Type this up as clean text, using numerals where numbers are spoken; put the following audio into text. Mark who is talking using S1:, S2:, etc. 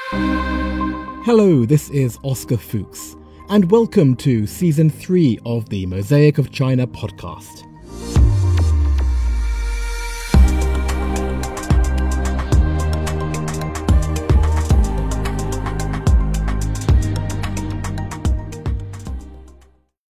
S1: Hello, this is Oscar Fuchs, and welcome to Season 3 of the Mosaic of China podcast.